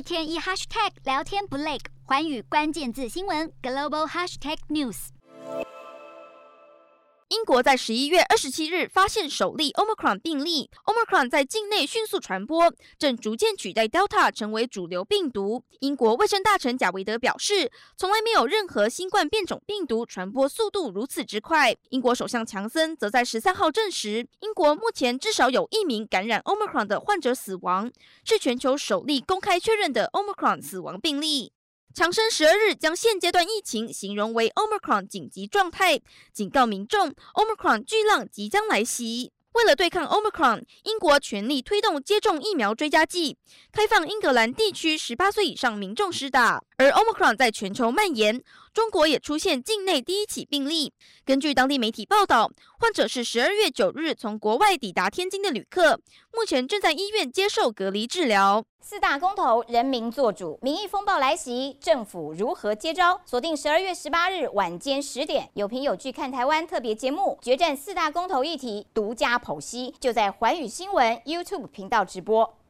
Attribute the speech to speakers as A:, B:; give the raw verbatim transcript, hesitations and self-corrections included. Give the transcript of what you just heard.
A: 天一 hashtag 聊天不累，寰宇關鍵字新聞 global hashtag news。
B: 英國在十一月二十七日發現首例 Omicron 病例 ，Omicron 在境內迅速傳播，正逐漸取代 Delta 成為主流病毒。英國衛生大臣賈維德表示，從來沒有任何新冠變種病毒傳播速度如此之快。英國首相強森則在十三號證實，英國目前至少有一名感染 Omicron 的患者死亡，是全球首例公開確認的 Omicron 死亡病例。強生十二日將現階段疫情形容為 Omicron 緊急狀態，警告民眾 Omicron 巨浪即將來襲。為了對抗 Omicron， 英國全力推動接種疫苗追加劑，開放英格蘭地區十八歲以上民眾施打。而 Omicron 在全球蔓延，中國也出現境內第一起病例。根據當地媒體報道，患者是十二月九日從國外抵達天津的旅客，目前正在醫院接受隔離治療。
C: 四大公投，人民做主，民意風暴來襲，政府如何接招？鎖定十二月十八日晚間十點，有憑有據看台灣特別節目，決戰四大公投議題，獨家剖析，就在寰宇新聞 YouTube 頻道直播。